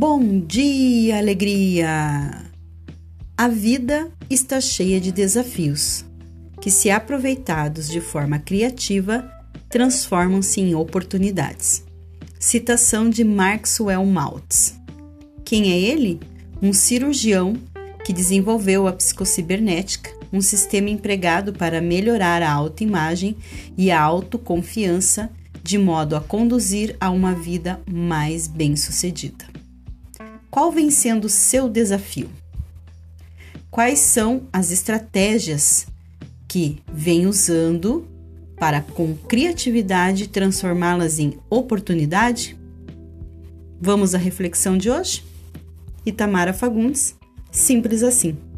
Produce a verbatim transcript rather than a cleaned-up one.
Bom dia, alegria! A vida está cheia de desafios, que, se aproveitados de forma criativa, transformam-se em oportunidades. Citação de Maxwell Maltz. Quem é ele? Um cirurgião que desenvolveu a psicocibernética, um sistema empregado para melhorar a autoimagem e a autoconfiança, de modo a conduzir a uma vida mais bem-sucedida. Qual vem sendo o seu desafio? Quais são as estratégias que vem usando para, com criatividade, transformá-las em oportunidade? Vamos à reflexão de hoje? Itamara Fagundes, simples assim.